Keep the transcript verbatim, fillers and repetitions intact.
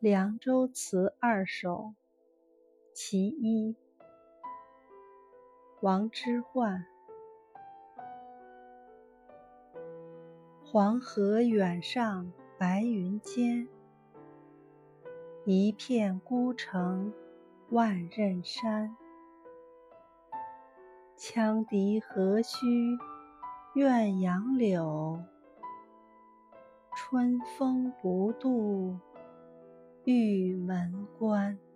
凉州词二首其一，王之涣。黄河远上白云间，一片孤城万仞山。羌笛何须怨杨柳，春风不度玉门关。